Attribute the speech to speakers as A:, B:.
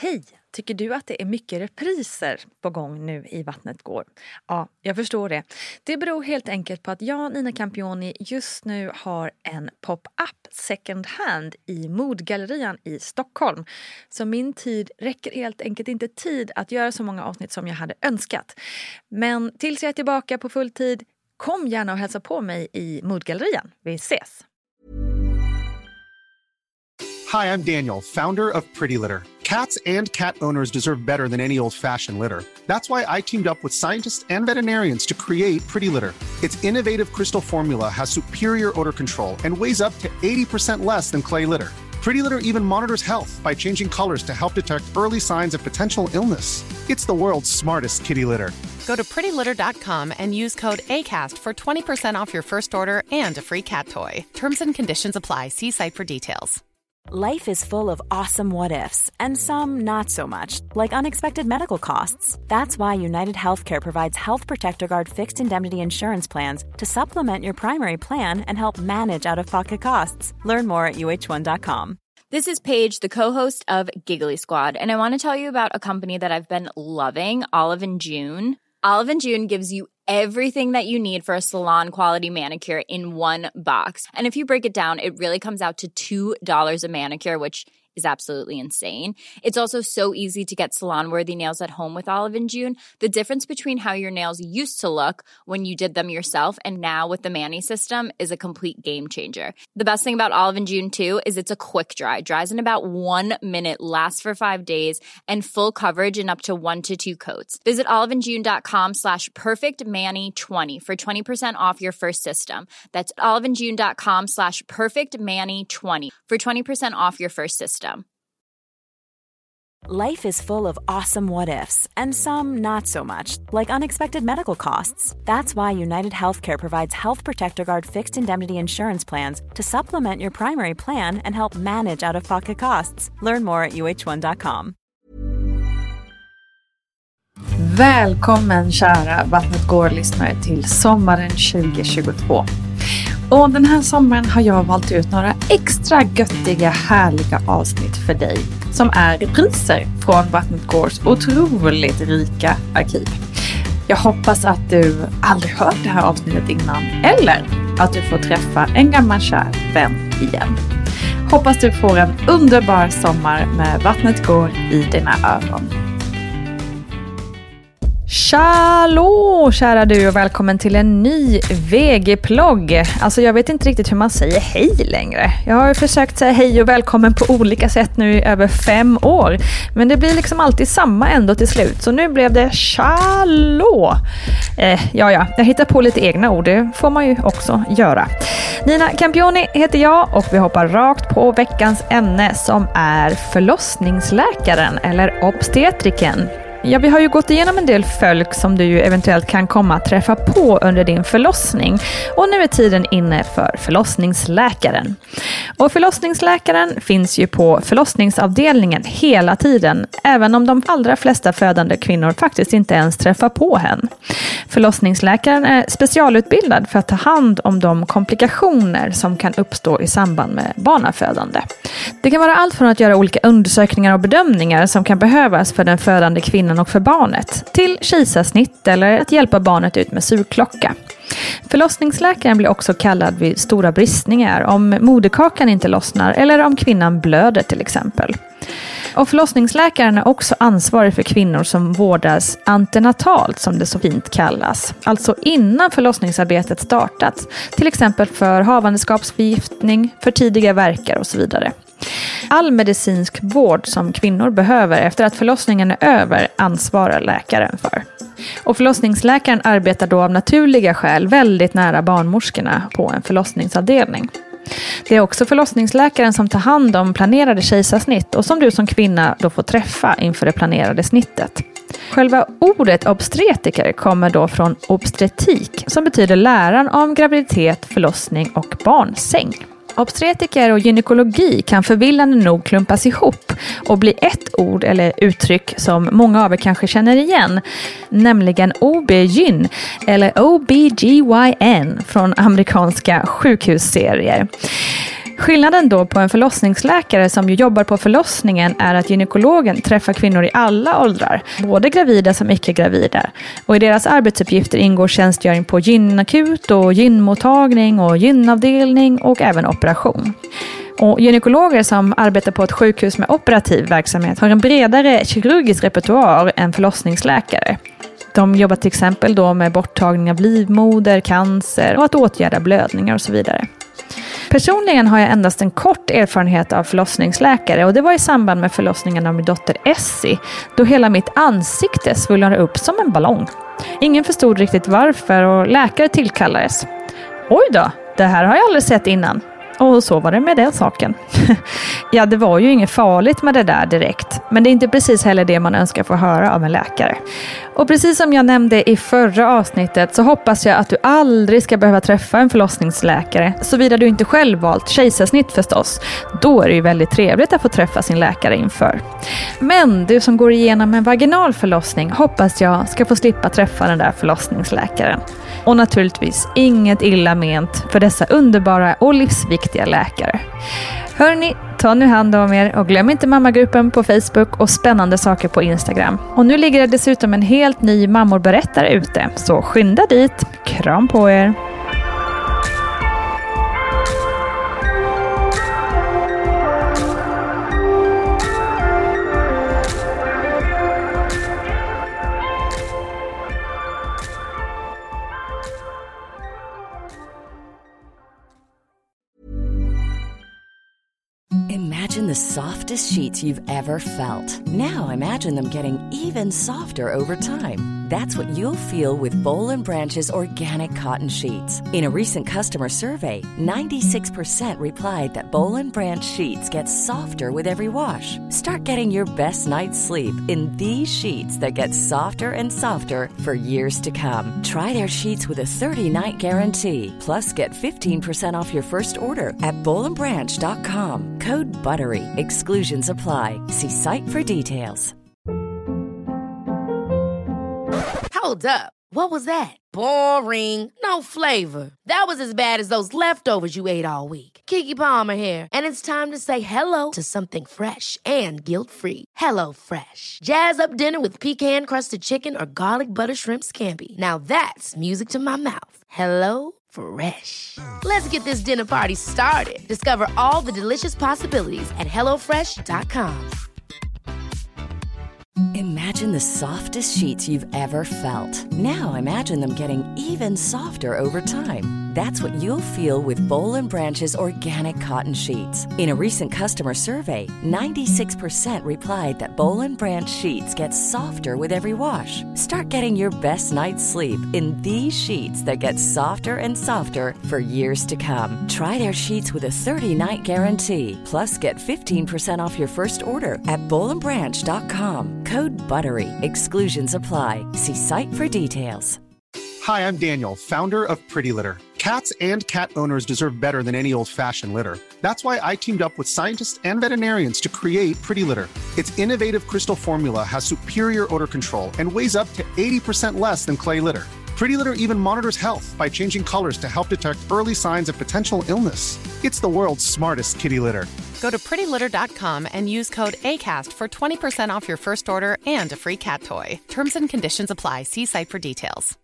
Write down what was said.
A: Hej! Tycker du att det är mycket repriser på gång nu i Vattnet går? Ja, jag förstår det. Det beror helt enkelt på att jag, Nina Campioni, just nu har en pop-up second hand i Modgallerian i Stockholm. Så min tid räcker helt enkelt inte tid att göra så många avsnitt som jag hade önskat. Men tills jag är tillbaka på full tid, kom gärna och hälsa på mig i Modgallerian. Vi ses!
B: Hi, I'm Daniel, founder of Pretty Litter. Cats and cat owners deserve better than any old-fashioned litter. That's why I teamed up with scientists and veterinarians to create Pretty Litter. Its innovative crystal formula has superior odor control and weighs up to 80% less than clay litter. Pretty Litter even monitors health by changing colors to help detect early signs of potential illness. It's the world's smartest kitty litter.
C: Go to prettylitter.com and use code ACAST for 20% off your first order and a free cat toy. Terms and conditions apply. See site for details.
D: Life is full of awesome what-ifs, and some not so much, like unexpected medical costs. That's why United Healthcare provides Health Protector Guard fixed indemnity insurance plans to supplement your primary plan and help manage out-of-pocket costs. Learn more at uh1.com.
E: This is Paige, the co-host of Giggly Squad, and I want to tell you about a company that I've been loving, Olive & June. Olive & June gives you everything that you need for a salon-quality manicure in one box. And if you break it down, it really comes out to $2 a manicure, which is absolutely insane. It's also so easy to get salon-worthy nails at home with Olive & June. The difference between how your nails used to look when you did them yourself and now with the Mani system is a complete game changer. The best thing about Olive & June, too, is it's a quick dry. Dries in about 1 minute, lasts for 5 days, and full coverage in up to 1 to 2 coats. Visit oliveandjune.com/perfectmani20 for 20% off your first system. That's oliveandjune.com/perfectmani20 for 20% off your first system.
D: Life is full of awesome what-ifs, and some not so much, like unexpected medical costs. That's why United Healthcare provides Health Protector Guard fixed indemnity insurance plans to supplement your primary plan and help manage out-of-pocket costs. Learn more at uh1.com.
A: Välkommen kära Vattnet går-lyssnare till sommaren 2022. Och den här sommaren har jag valt ut några extra göttiga, härliga avsnitt för dig som är repriser från Vattnet Gårs otroligt rika arkiv. Jag hoppas att du aldrig hört det här avsnittet innan eller att du får träffa en gammal kär vän igen. Hoppas du får en underbar sommar med Vattnet går i dina öron. Tjallå kära du och välkommen till en ny VG-plogg. Alltså jag vet inte riktigt hur man säger hej längre. Jag har försökt säga hej och välkommen på olika sätt nu i över 5 år. Men det blir liksom alltid samma ändå till slut. Så nu blev det tjallå. Jag hittar på lite egna ord. Det får man ju också göra. Nina Campioni heter jag och vi hoppar rakt på veckans ämne som är förlossningsläkaren eller obstetriken. Ja, vi har ju gått igenom en del folk som du ju eventuellt kan komma att träffa på under din förlossning. Och nu är tiden inne för förlossningsläkaren. Och förlossningsläkaren finns ju på förlossningsavdelningen hela tiden, även om de allra flesta födande kvinnor faktiskt inte ens träffar på henne. Förlossningsläkaren är specialutbildad för att ta hand om de komplikationer som kan uppstå i samband med barnafödande. Det kan vara allt från att göra olika undersökningar och bedömningar som kan behövas för den födande kvinnan och för barnet, till kejsarsnitt eller att hjälpa barnet ut med sugklocka. Förlossningsläkaren blir också kallad vid stora bristningar om moderkakan inte lossnar eller om kvinnan blöder till exempel. Och förlossningsläkaren är också ansvarig för kvinnor som vårdas antenatalt som det så fint kallas. Alltså innan förlossningsarbetet startat. Till exempel för havandeskapsförgiftning, för tidiga värkar och så vidare. All medicinsk vård som kvinnor behöver efter att förlossningen är över ansvarar läkaren för. Och förlossningsläkaren arbetar då av naturliga skäl väldigt nära barnmorskorna på en förlossningsavdelning. Det är också förlossningsläkaren som tar hand om planerade kejsarsnitt och som du som kvinna då får träffa inför det planerade snittet. Själva ordet obstetriker kommer då från obstetrik som betyder läran om graviditet, förlossning och barnsäng. Obstetriker och gynekologi kan förvillande nog klumpas ihop och bli ett ord eller uttryck som många av er kanske känner igen, nämligen OB-gyn eller OBGYN från amerikanska sjukhusserier. Skillnaden då på en förlossningsläkare som ju jobbar på förlossningen är att gynekologen träffar kvinnor i alla åldrar, både gravida som icke-gravida. Och i deras arbetsuppgifter ingår tjänstgöring på gynakut och gynmottagning och gynavdelning och även operation. Och gynekologer som arbetar på ett sjukhus med operativ verksamhet har en bredare kirurgisk repertoar än förlossningsläkare. De jobbar till exempel då med borttagning av livmoder, cancer och att åtgärda blödningar och så vidare. Personligen har jag endast en kort erfarenhet av förlossningsläkare och det var i samband med förlossningen av min dotter Essie, då hela mitt ansikte svullnade upp som en ballong. Ingen förstod riktigt varför och läkare tillkallades. Oj då, det här har jag aldrig sett innan. Och så var det med den saken. Ja, det var ju inget farligt med det där direkt. Men det är inte precis heller det man önskar få höra av en läkare. Och precis som jag nämnde i förra avsnittet så hoppas jag att du aldrig ska behöva träffa en förlossningsläkare. Såvida du inte själv valt kejsarsnitt förstås. Då är det ju väldigt trevligt att få träffa sin läkare inför. Men du som går igenom en vaginal förlossning hoppas jag ska få slippa träffa den där förlossningsläkaren. Och naturligtvis inget illa ment för dessa underbara och livsviktiga läkare. Hörni, ta nu hand om er och glöm inte mammagruppen på Facebook och spännande saker på Instagram. Och nu ligger det dessutom en helt ny mammorberättare ute, så skynda dit. Kram på er!
F: Imagine the softest sheets you've ever felt. Now imagine them getting even softer over time. That's what you'll feel with Boll & Branch's organic cotton sheets. In a recent customer survey, 96% replied that Boll & Branch sheets get softer with every wash. Start getting your best night's sleep in these sheets that get softer and softer for years to come. Try their sheets with a 30-night guarantee. Plus, get 15% off your first order at bollandbranch.com. Code BUTTERY. Exclusions apply. See site for details.
G: Hold up. What was that? Boring. No flavor. That was as bad as those leftovers you ate all week. Keke Palmer here, and it's time to say hello to something fresh and guilt-free. Hello Fresh. Jazz up dinner with pecan-crusted chicken or garlic butter shrimp scampi. Now that's music to my mouth. Hello Fresh. Let's get this dinner party started. Discover all the delicious possibilities at HelloFresh.com.
F: Imagine the softest sheets you've ever felt. Now imagine them getting even softer over time. That's what you'll feel with Boll & Branch's organic cotton sheets. In a recent customer survey, 96% replied that Boll & Branch sheets get softer with every wash. Start getting your best night's sleep in these sheets that get softer and softer for years to come. Try their sheets with a 30-night guarantee. Plus, get 15% off your first order at bollandbranch.com. Code BUTTERY. Exclusions apply. See site for details.
B: Hi, I'm Daniel, founder of Pretty Litter. Cats and cat owners deserve better than any old-fashioned litter. That's why I teamed up with scientists and veterinarians to create Pretty Litter. Its innovative crystal formula has superior odor control and weighs up to 80% less than clay litter. Pretty Litter even monitors health by changing colors to help detect early signs of potential illness. It's the world's smartest kitty litter.
C: Go to prettylitter.com and use code ACAST for 20% off your first order and a free cat toy. Terms and conditions apply. See site for details.